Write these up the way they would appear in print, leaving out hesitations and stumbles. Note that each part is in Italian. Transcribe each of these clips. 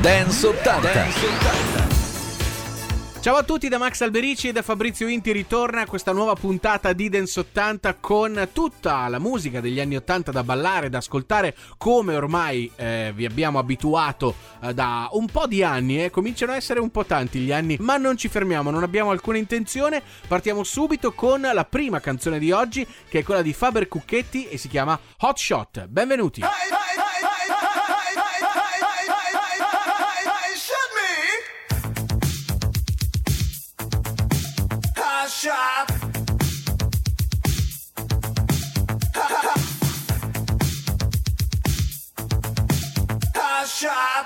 Dance 80. Ciao a tutti da Max Alberici e da Fabrizio Inti. Ritorna questa nuova puntata di Dance 80 con tutta la musica degli anni 80 da ballare, da ascoltare, come ormai vi abbiamo abituato da un po' di anni. Cominciano a essere un po' tanti gli anni, ma non ci fermiamo, non abbiamo alcuna intenzione. Partiamo subito con la prima canzone di oggi, che è quella di Faber Cucchetti e si chiama Hot Shot. Benvenuti. Shot. Shot.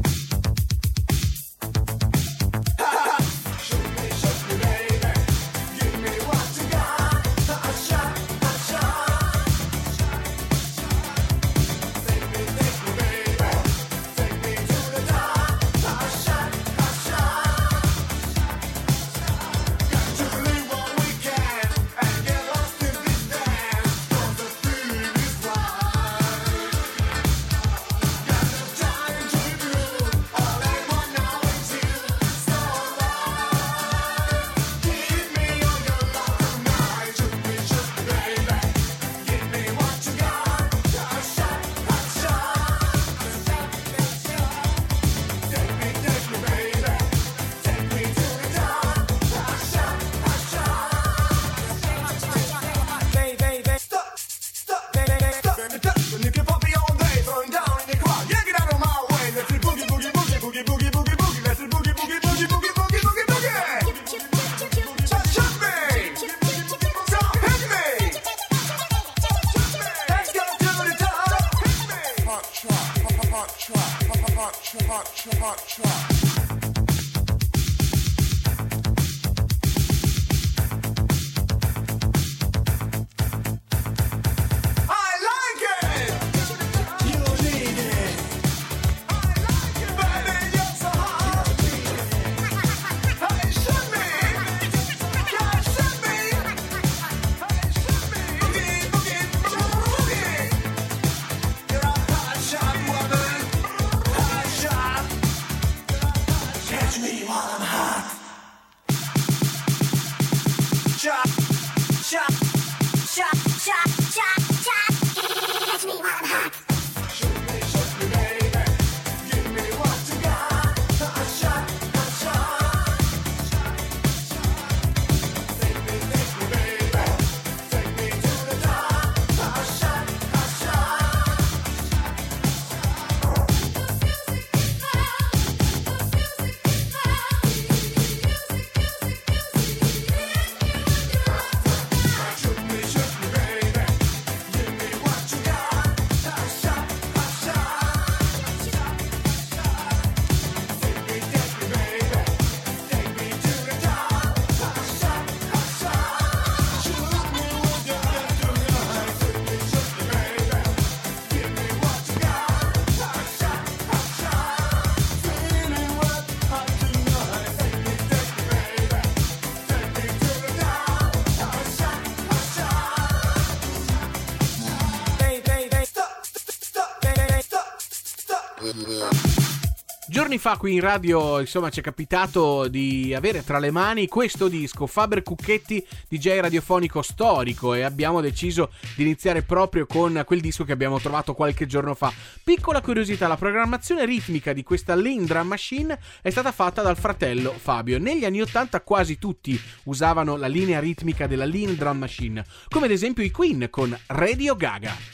Giorni fa qui in radio, insomma, ci è capitato di avere tra le mani questo disco, Faber Cucchetti, DJ radiofonico storico, e abbiamo deciso di iniziare proprio con quel disco che abbiamo trovato qualche giorno fa. Piccola curiosità, la programmazione ritmica di questa Lean Drum Machine è stata fatta dal fratello Fabio. Negli anni 80 quasi tutti usavano la linea ritmica della Lean Drum Machine, come ad esempio i Queen con Radio Gaga.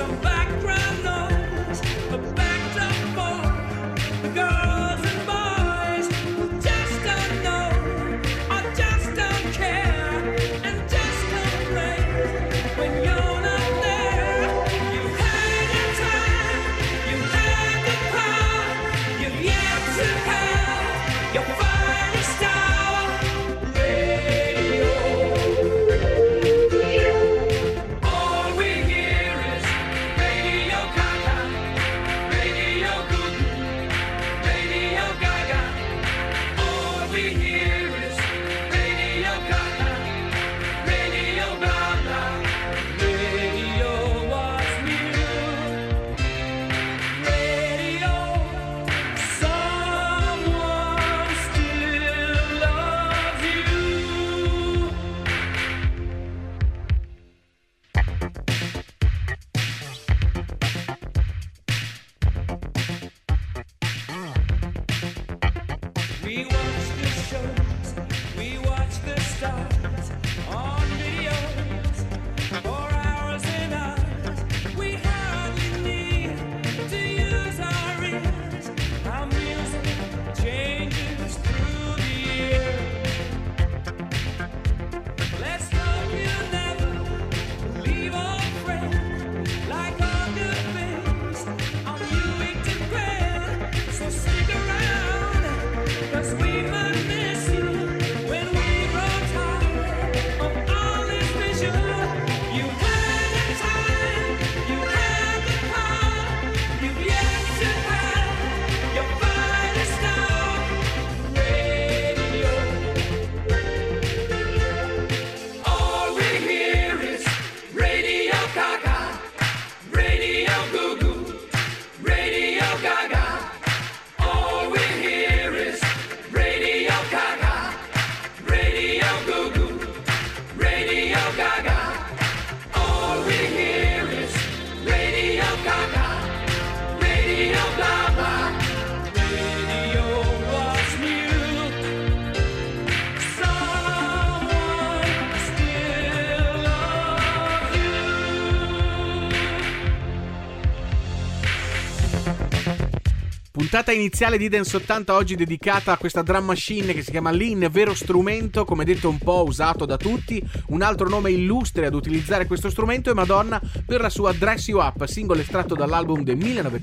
Puntata iniziale di Dance 80 oggi dedicata a questa drum machine che si chiama Lean, vero strumento, come detto un po' usato da tutti. Un altro nome illustre ad utilizzare questo strumento è Madonna per la sua Dress You Up, singolo estratto dall'album del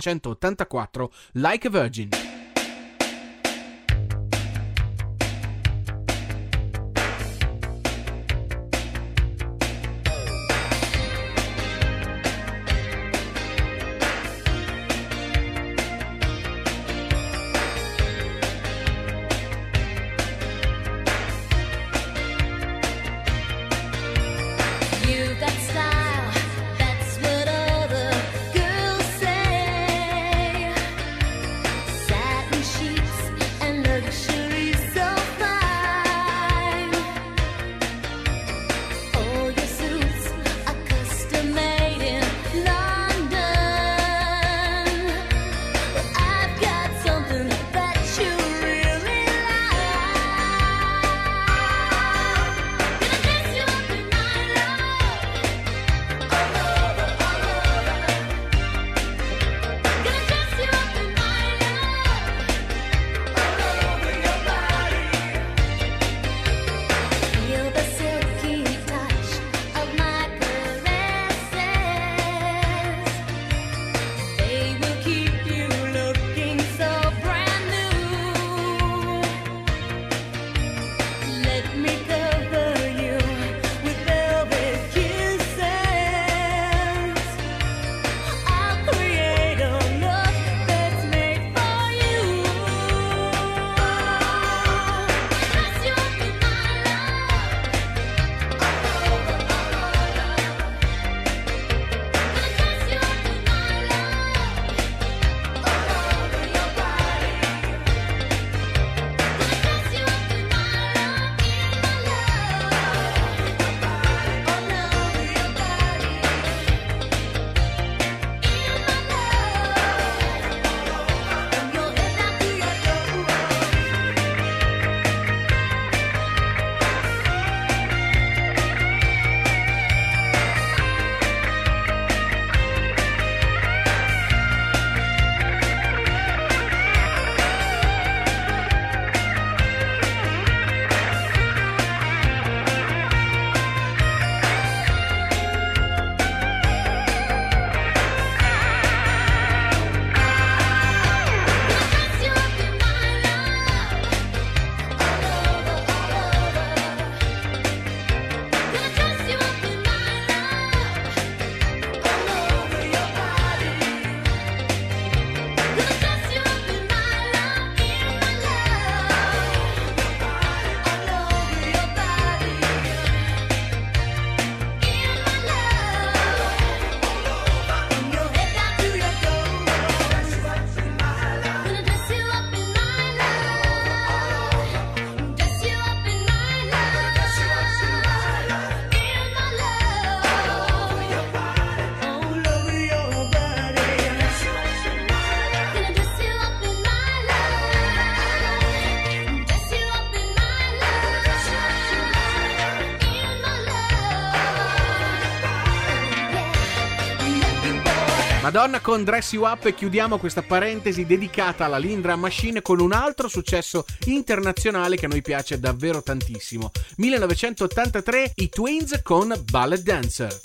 1984 Like a Virgin. Sad Madonna con Dress You Up, e chiudiamo questa parentesi dedicata alla Lean Drum Machine con un altro successo internazionale che a noi piace davvero tantissimo. 1983, i Twins con Ballet Dancer.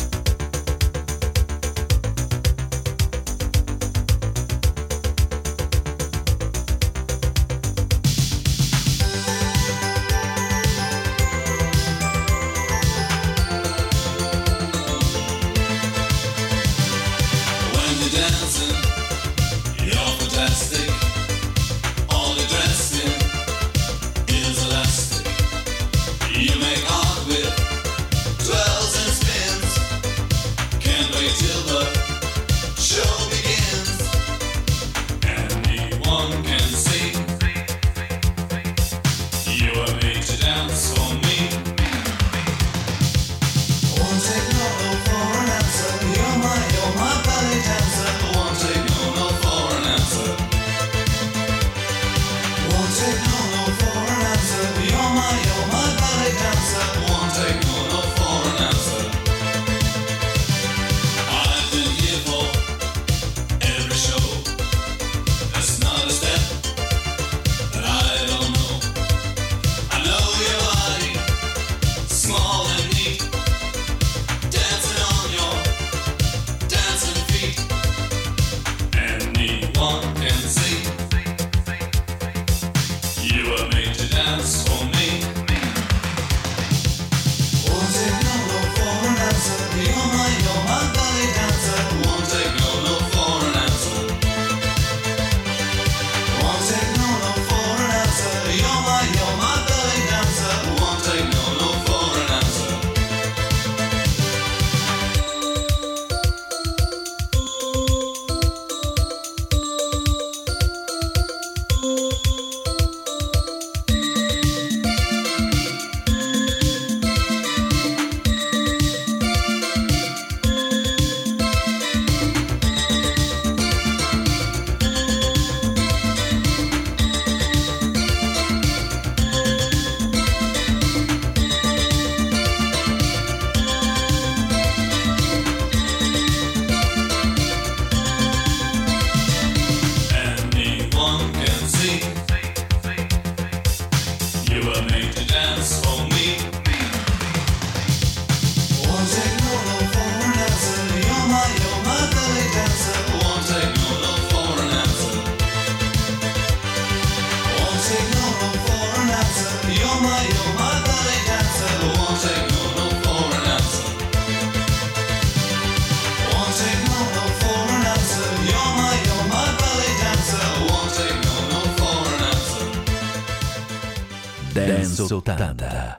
Dance 80.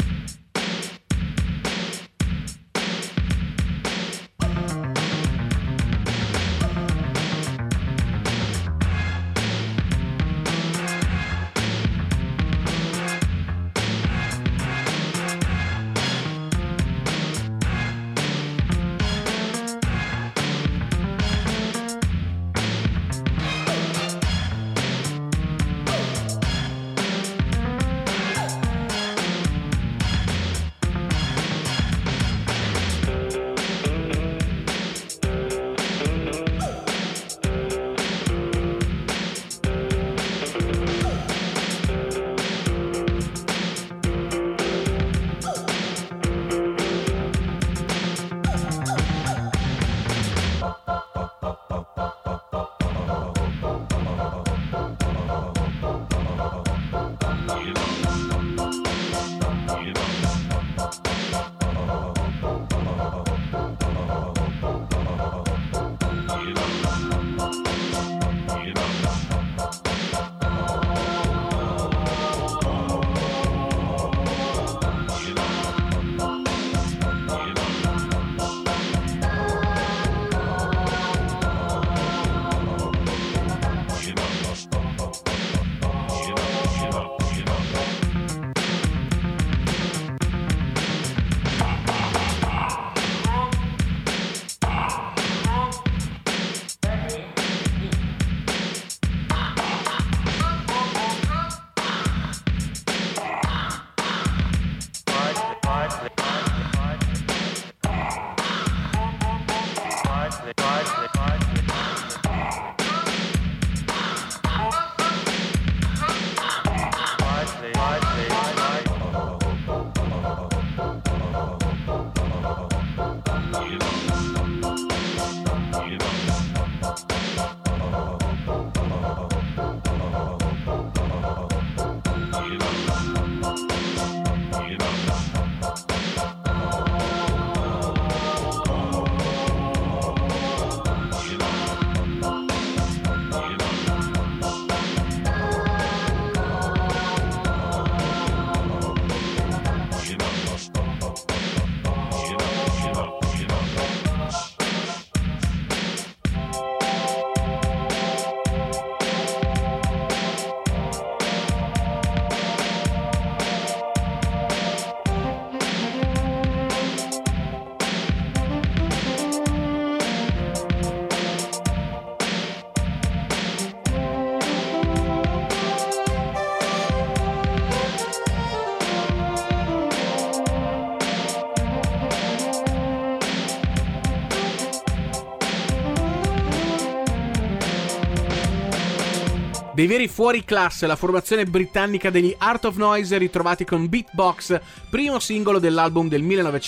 Dei veri fuori classe, la formazione britannica degli Art of Noise, ritrovati con Beatbox, primo singolo dell'album del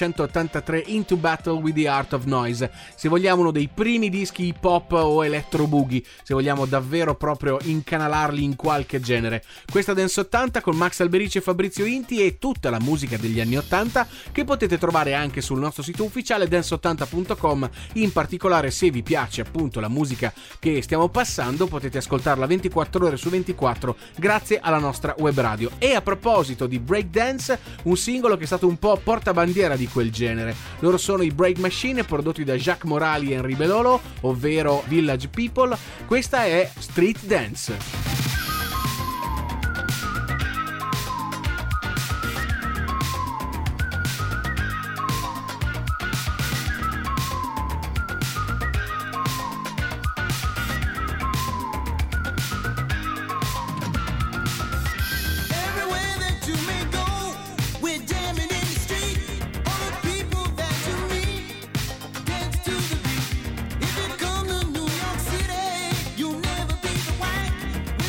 1983 Into Battle with the Art of Noise. Se vogliamo uno dei primi dischi hip hop o electro boogie, se vogliamo davvero proprio incanalarli in qualche genere. Questa Dance 80 con Max Alberici e Fabrizio Inti e tutta la musica degli anni 80 che potete trovare anche sul nostro sito ufficiale dance80.com. In particolare, se vi piace appunto la musica che stiamo passando, potete ascoltarla 24 ore su 24 grazie alla nostra web radio. E a proposito di breakdance, un singolo che è stato un po' portabandiera di quel genere. Loro sono i Break Machine, prodotti da Jacques Morali e Henri Belolo, ovvero Village People. Questa è Street Dance. If you come to New York City, you'll never be the white.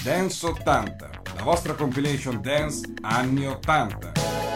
Dance 80, la vostra compilation dance anni 80.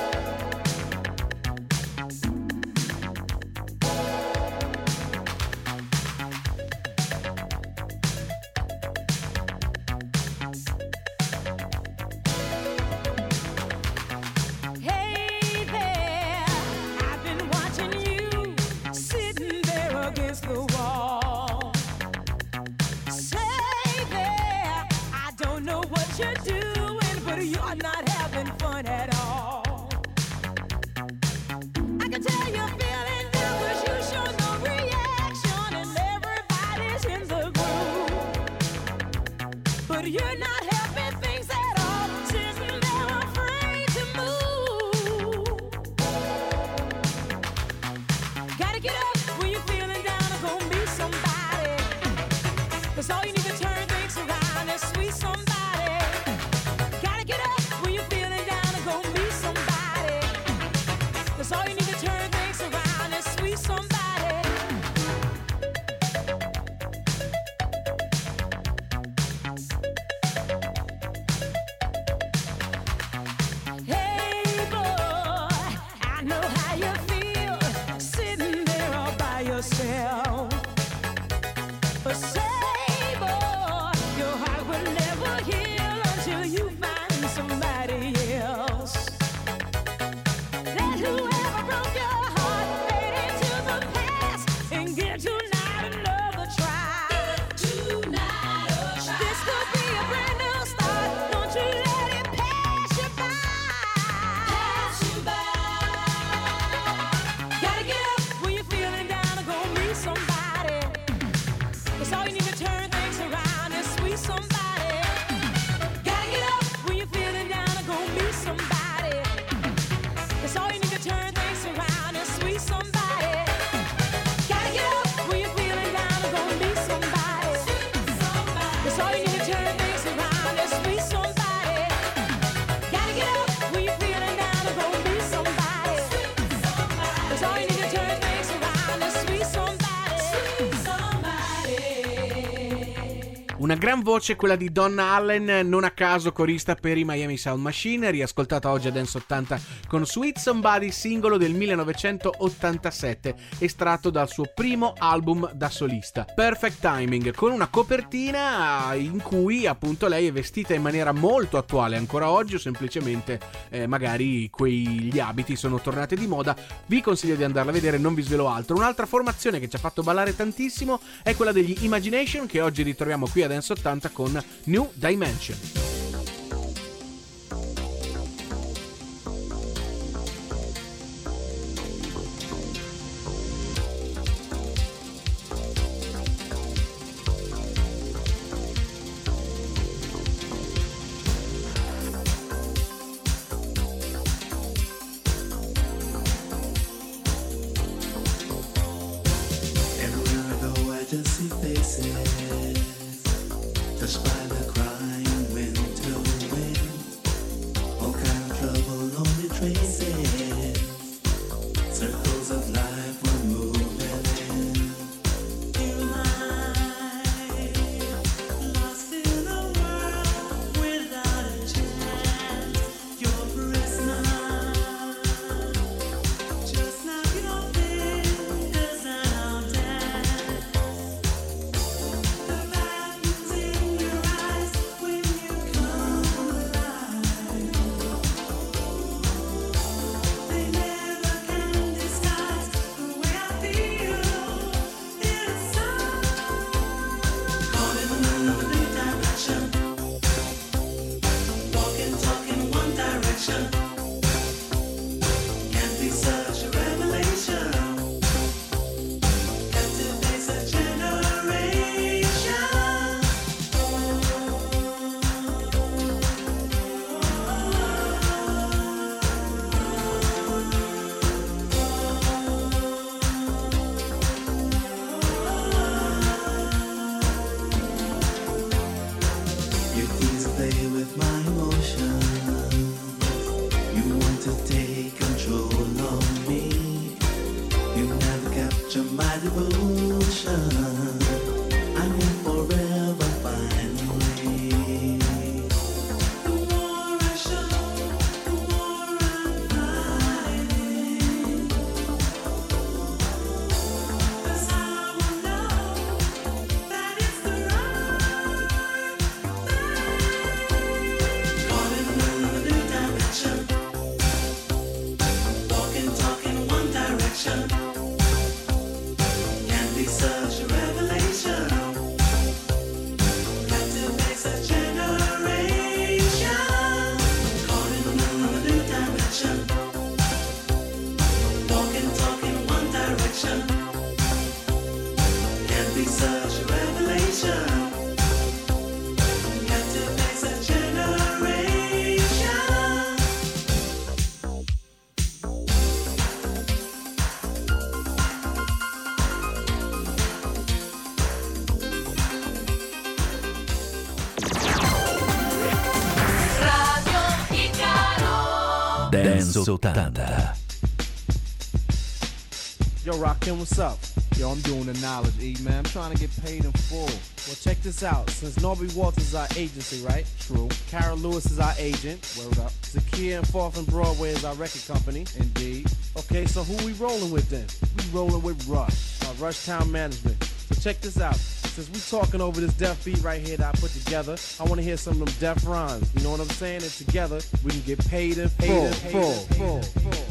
Una gran voce quella di Donna Allen, non a caso corista per i Miami Sound Machine, riascoltata oggi a Dance 80 con Sweet Somebody, singolo del 1987, estratto dal suo primo album da solista, Perfect Timing, con una copertina in cui appunto lei è vestita in maniera molto attuale ancora oggi, o semplicemente magari gli abiti sono tornati di moda. Vi consiglio di andarla a vedere, non vi svelo altro. Un'altra formazione che ci ha fatto ballare tantissimo è quella degli Imagination, che oggi ritroviamo qui a Dance 80 con New Dimension. devotion. I'm in forever finally. Dance 80. Yo, Rakim, what's up? Yo, I'm doing the knowledge, E, man. I'm trying to get paid in full. Well, check this out. Since Norby Walters is our agency, right? True. Carol Lewis is our agent. Word up. Zakia and Fourth and Broadway is our record company. Indeed. Okay, so who we rolling with then? We rolling with Rush, our Rush Town Management. So check this out. Since we talking over this deaf beat right here that I put together, I want to hear some of them deaf rhymes. You know what I'm saying? And together, we can get paid in full.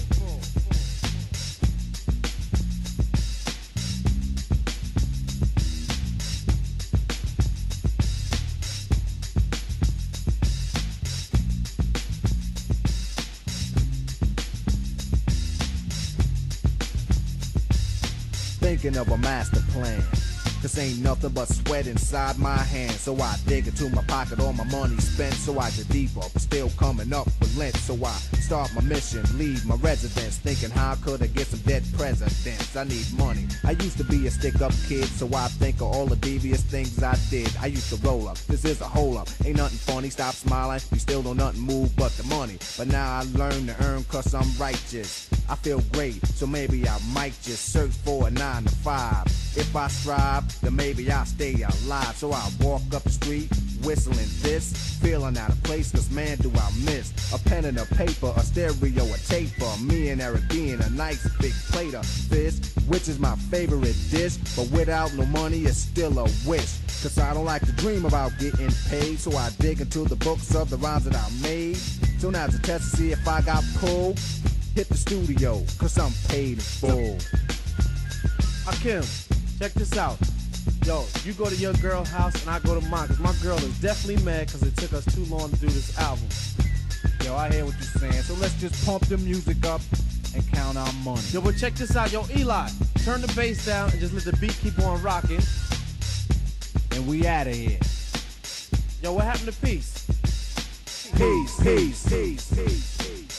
Thinking of a master plan. Cause ain't nothing but sweat inside my hands. So I dig into my pocket, all my money spent. So I get deeper, but still coming up with lint. So I start my mission, leave my residence. Thinking how could I get some dead presidents? I need money. I used to be a stick-up kid, so I think of all the devious things I did. I used to roll up, this is a hole up. Ain't nothing funny, stop smiling. You still don't nothing move but the money. But now I learn to earn cause I'm righteous. I feel great, so maybe I might just search for a 9 to 5. If I strive, then maybe I'll stay alive. So I walk up the street, whistling this, feeling out of place, cause man do I miss a pen and a paper, a stereo, a taper. Me and Eric being a nice big plate of fish, which is my favorite dish. But without no money, it's still a wish. Cause I don't like to dream about getting paid. So I dig into the books of the rhymes that I made. So now's a test to see if I got pulled. Hit the studio, cause I'm paid in full. Hakim, check this out. Yo, you go to your girl's house and I go to mine. Cause my girl is definitely mad cause it took us too long to do this album. Yo, I hear what you're saying. So let's just pump the music up and count our money. Yo, but check this out. Yo, Eli, turn the bass down and just let the beat keep on rocking. And we outta here. Yo, what happened to peace? Peace, peace, peace, peace.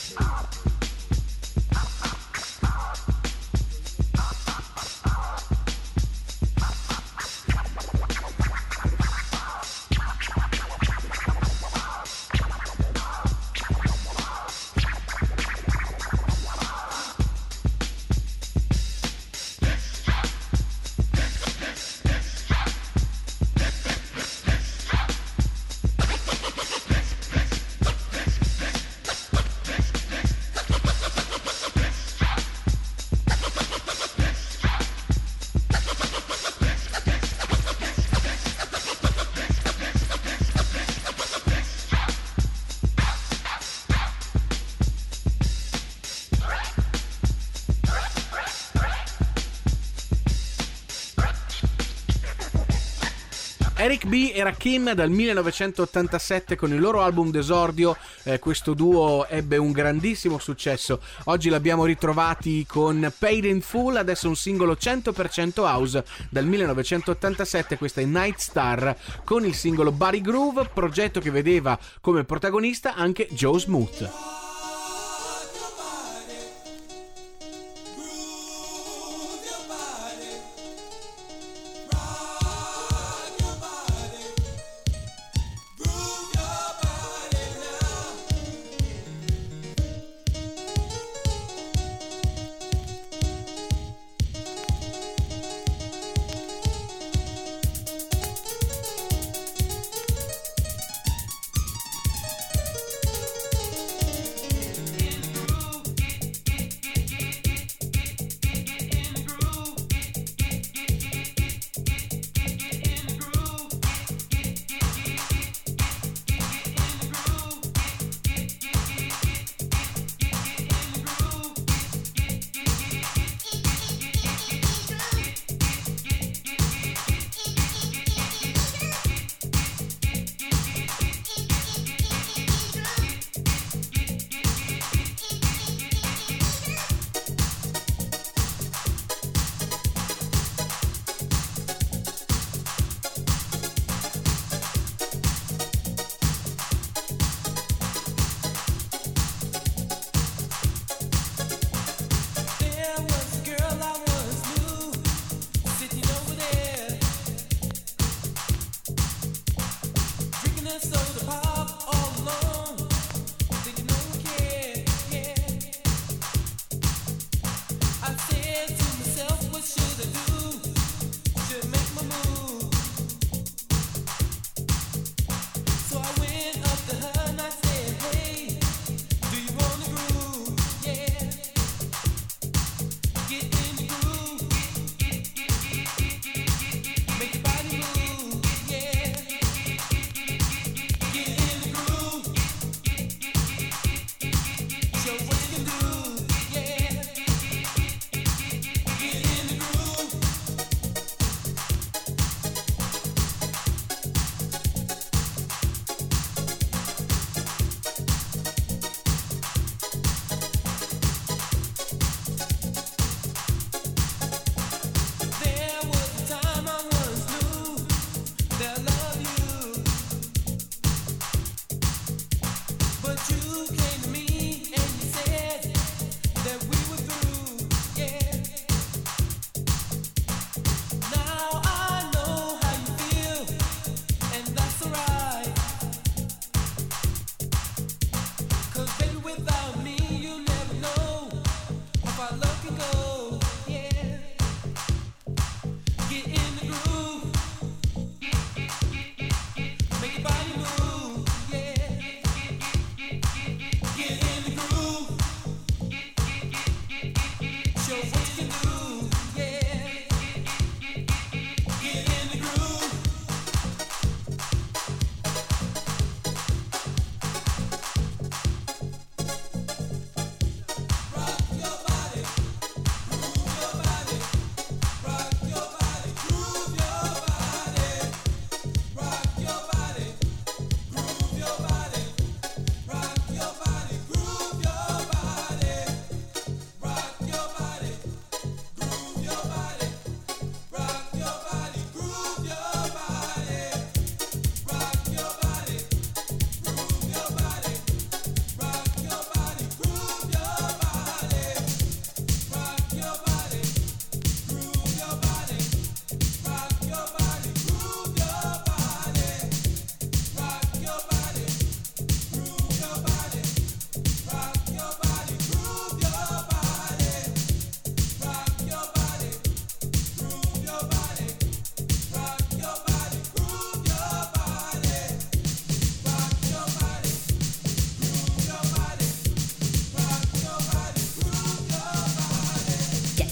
Eric B e Rakim dal 1987 con il loro album d'esordio, questo duo ebbe un grandissimo successo. Oggi l'abbiamo ritrovati con Paid in Full, adesso un singolo 100% house dal 1987, questa è Night Star con il singolo Body Groove, progetto che vedeva come protagonista anche Joe Smooth.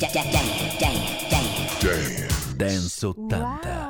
Dance 80.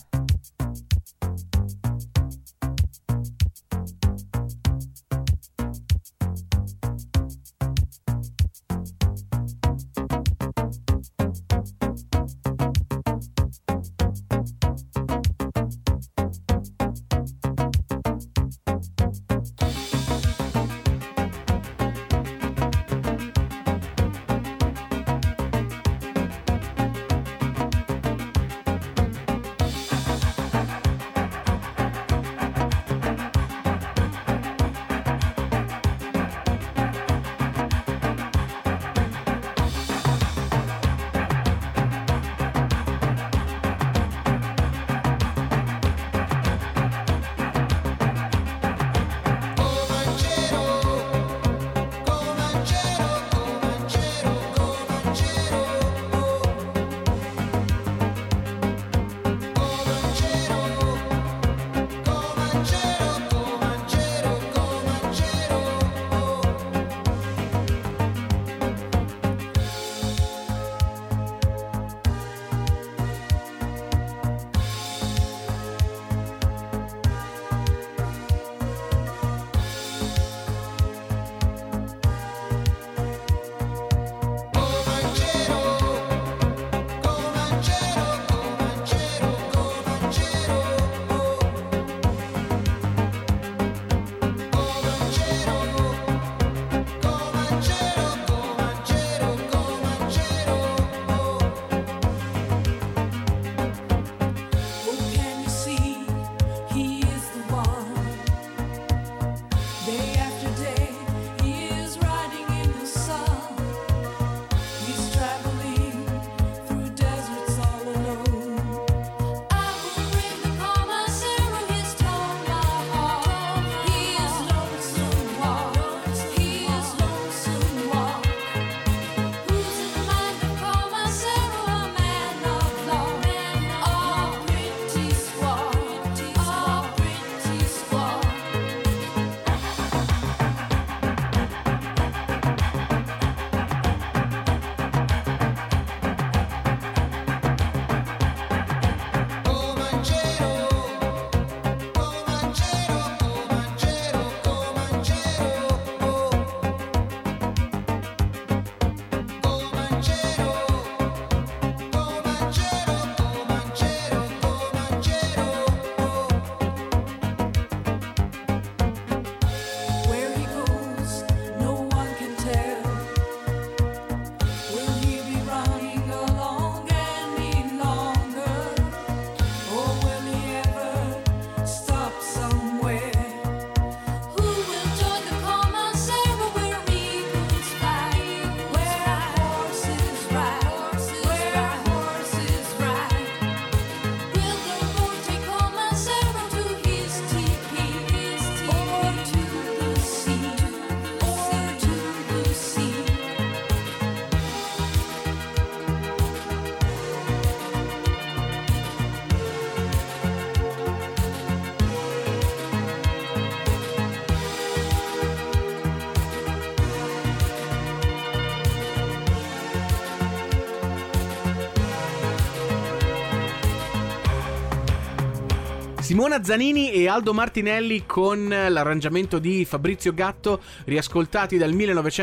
Simona Zanini e Aldo Martinelli con l'arrangiamento di Fabrizio Gatto, riascoltati dal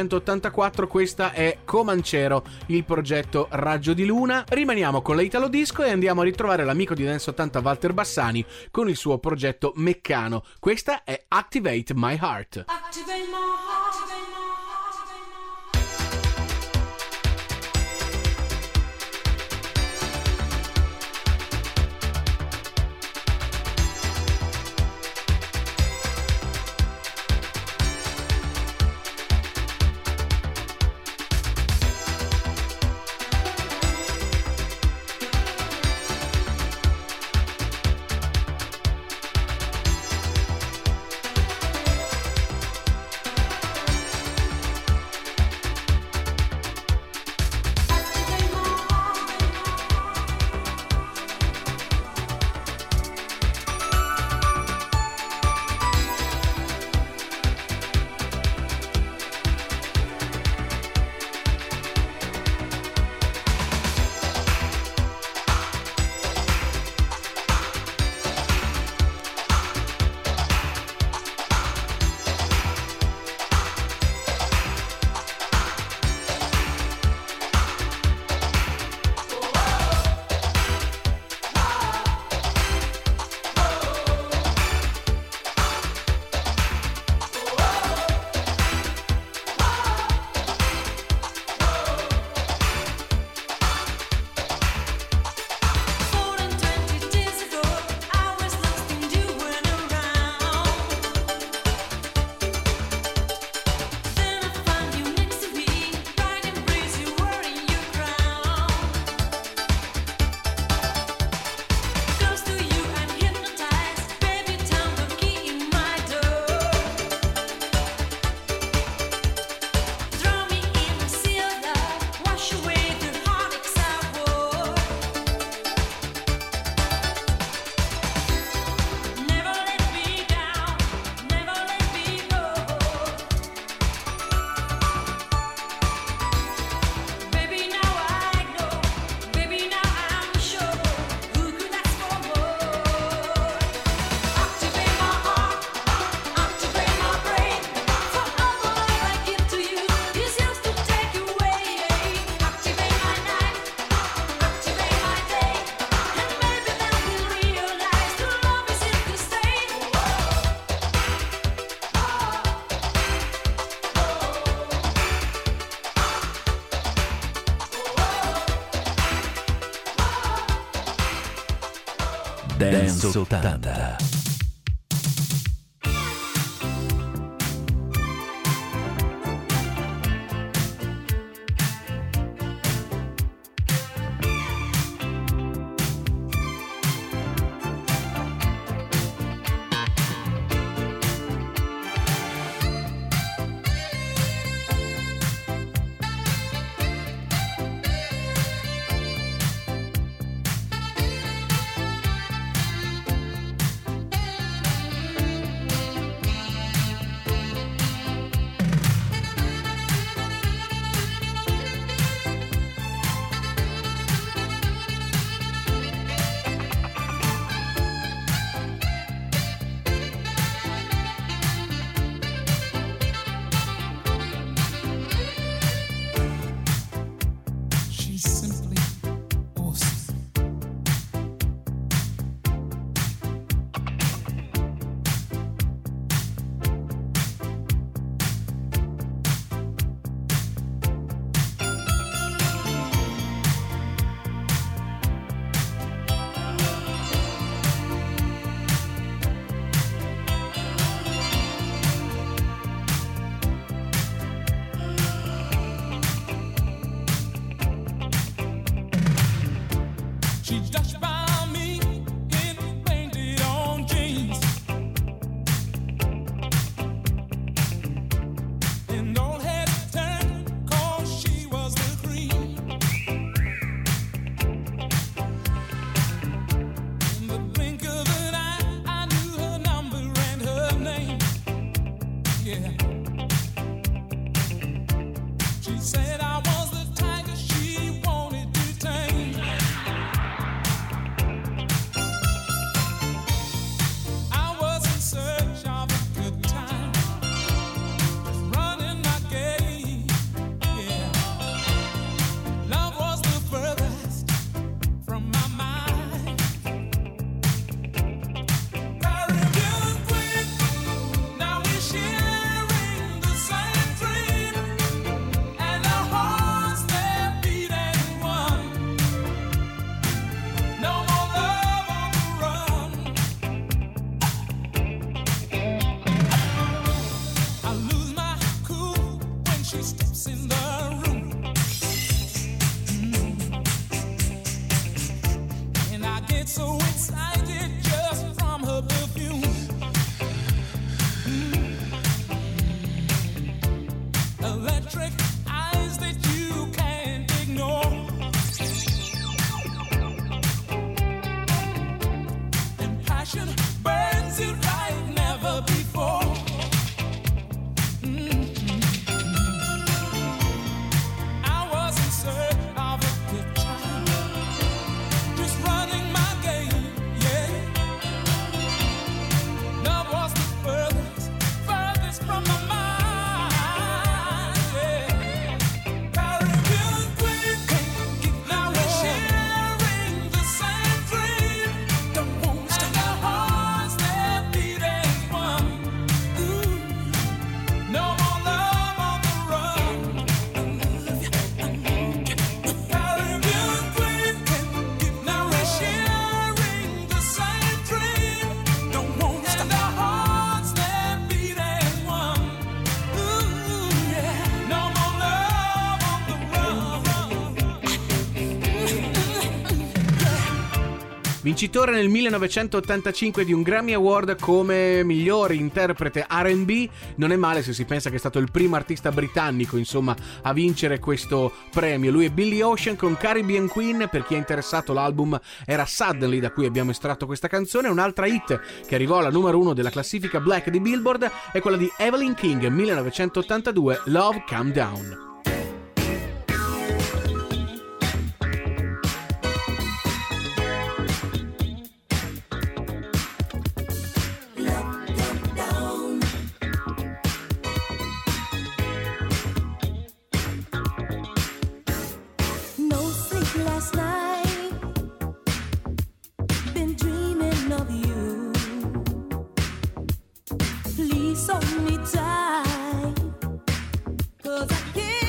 1984. Questa è Comancero, il progetto Raggio di Luna. Rimaniamo con la Italo Disco e andiamo a ritrovare l'amico di Dance 80 Walter Bassani con il suo progetto Meccano. Questa è Activate My Heart. Activate my heart. Dance 80. Vincitore nel 1985 di un Grammy Award come miglior interprete R&B. Non è male se si pensa che è stato il primo artista britannico, insomma, a vincere questo premio. Lui è Billy Ocean con Caribbean Queen. Per chi è interessato, l'album era Suddenly, da cui abbiamo estratto questa canzone. Un'altra hit che arrivò alla numero 1 della classifica Black di Billboard è quella di Evelyn King, 1982, Love Calm Down. Please hold me tight, 'cause I can't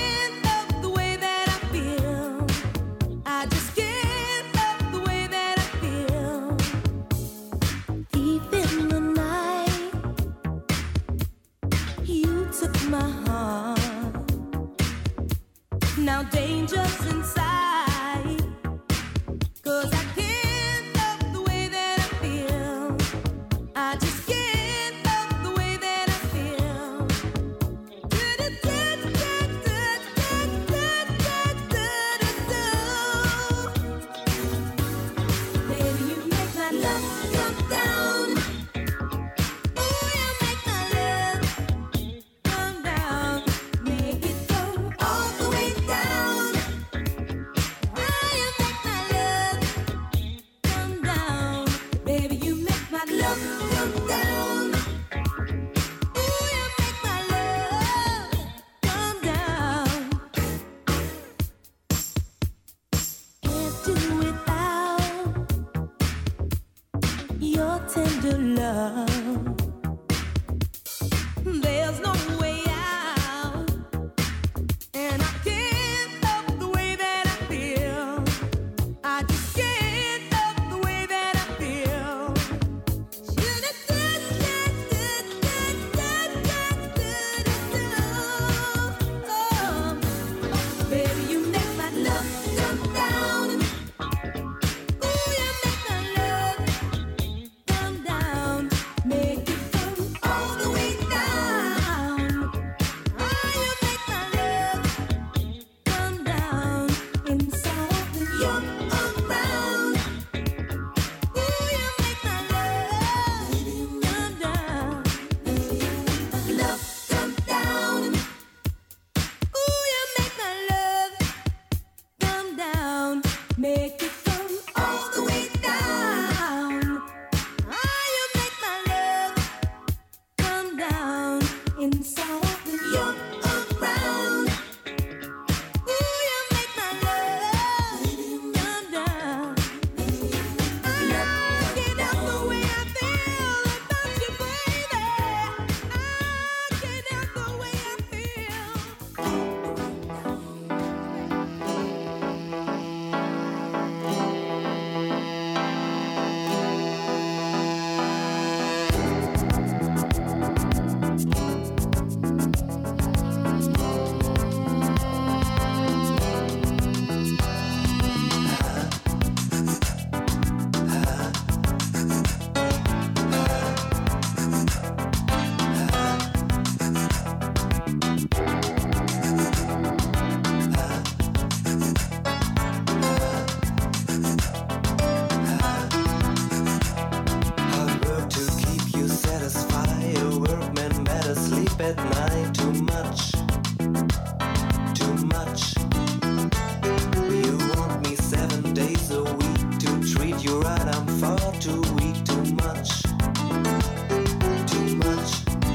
your tender love. There's no way out, and I can't help the way that I feel. I just can't help the way that I feel. Baby, you make my love come down. Ooh, you make my love come down. Make it come all the way down. Oh, you make my love come down. Inside when you're around. Ooh, you make my love come down. Love come down. Ooh, you make my love come down. Make it come all the way down. Ah, you make my love come down. Inside when you're around. Ooh, you make my love come down. I can't help the way I feel about you, baby. I can't help the way I feel. Hard work to keep you satisfied. A workman better sleep at night. Too much, too much. You want me 7 days a week to treat you right. I'm far too weak. Too much, too much.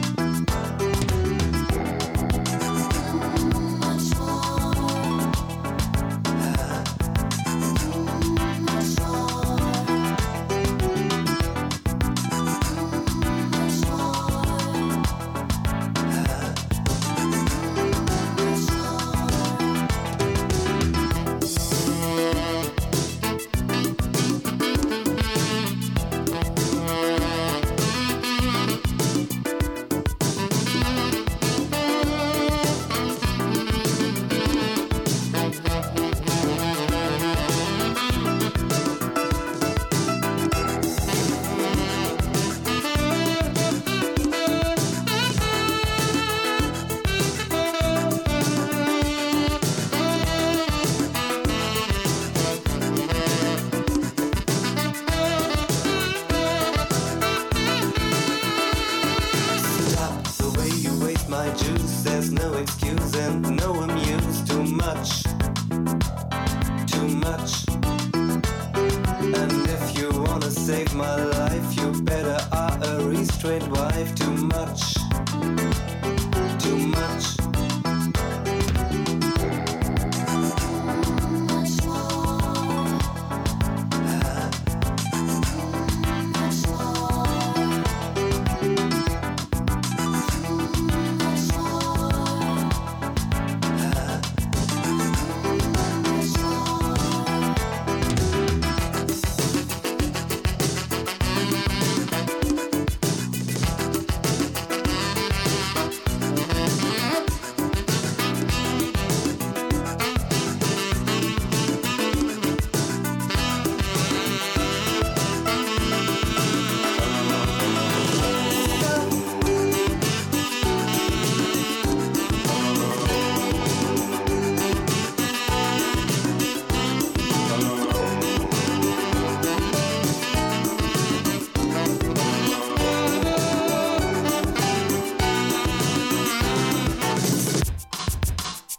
Stop the way you waste my juice. There's no excuse and no amuse. Too much, too much. And if you wanna save my life, you better are a restrained wife. Too much, too much.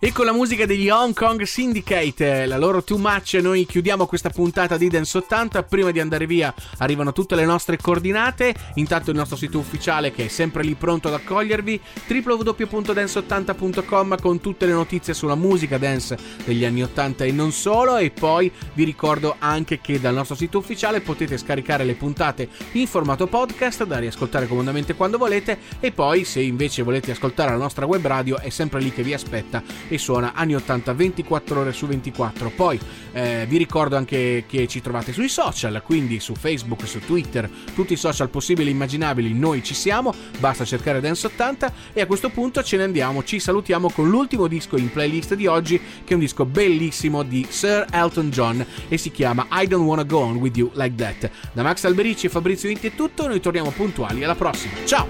E con la musica degli Hong Kong Syndicate, la loro Too Much, noi chiudiamo questa puntata di Dance 80. Prima di andare via arrivano tutte le nostre coordinate. Intanto il nostro sito ufficiale, che è sempre lì pronto ad accogliervi, www.dance80.com, con tutte le notizie sulla musica dance degli anni 80 e non solo. E poi vi ricordo anche che dal nostro sito ufficiale potete scaricare le puntate in formato podcast da riascoltare comodamente quando volete. E poi, se invece volete ascoltare la nostra web radio, è sempre lì che vi aspetta e suona anni 80 24 ore su 24. Poi vi ricordo anche che ci trovate sui social, quindi su Facebook, su Twitter, tutti i social possibili e immaginabili, noi ci siamo, basta cercare Dance 80. E a questo punto ce ne andiamo, ci salutiamo con l'ultimo disco in playlist di oggi, che è un disco bellissimo di Sir Elton John e si chiama I Don't Wanna Go On With You Like That. Da Max Alberici e Fabrizio Inti è tutto, noi torniamo puntuali alla prossima, ciao!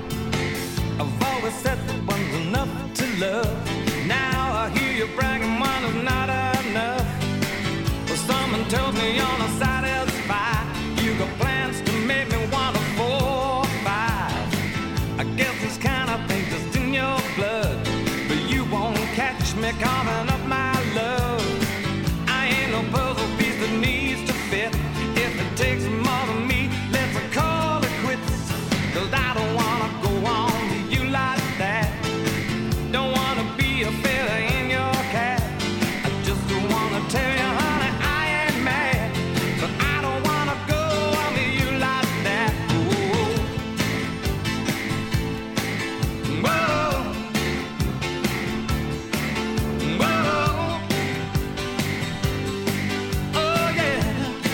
Now I hear you bragging one is not enough. Well, someone tells me you're not satisfied. You got plans to make me want a 4 or 5. I guess this kind of thing just in your blood, but you won't catch me coming up my love. I ain't no puzzle piece that needs to fit. If it takes more than me, let's call it quits. 'Cause I don't wanna go on with you like that. Don't wanna be a feather in your cap. I just wanna tell you, honey, I ain't mad, but I don't wanna go on with you like that. Whoa. Whoa. Oh yeah.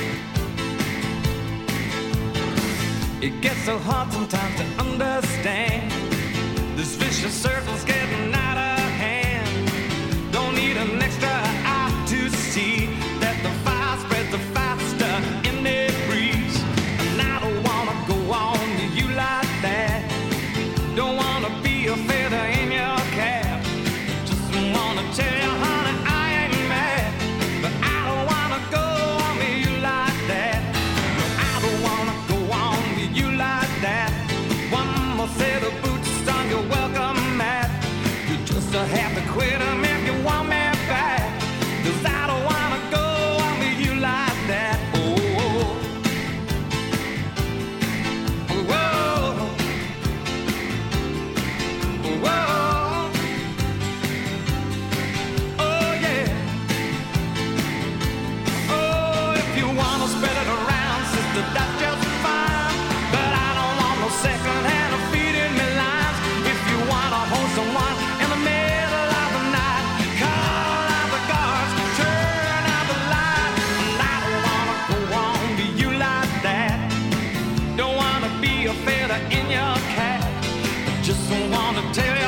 It gets so hard sometimes to understand. This vicious circle's getting out of hand. Don't need an extra eye to see that the fire spreads faster in the breeze. And I don't wanna go on with you like that. Don't wanna be a feather in your cap. Just wanna tell you, honey, I ain't mad, but I don't wanna go on with you like that. No, I don't wanna go on with you like that. One more set of boots on your welcome mat. You just have to quit 'em if you want me back. 'Cause I don't wanna go on with you like that. Oh, whoa, whoa, oh yeah. Oh, if you wanna spread it around, sister, that's just fine. But I don't want no second hand feeding me lines. If you wanna hold someone in the middle of the night, call out the guards, turn out the light. And I don't wanna go on to you like that. Don't wanna be a feather in your cap. Just wanna tell you,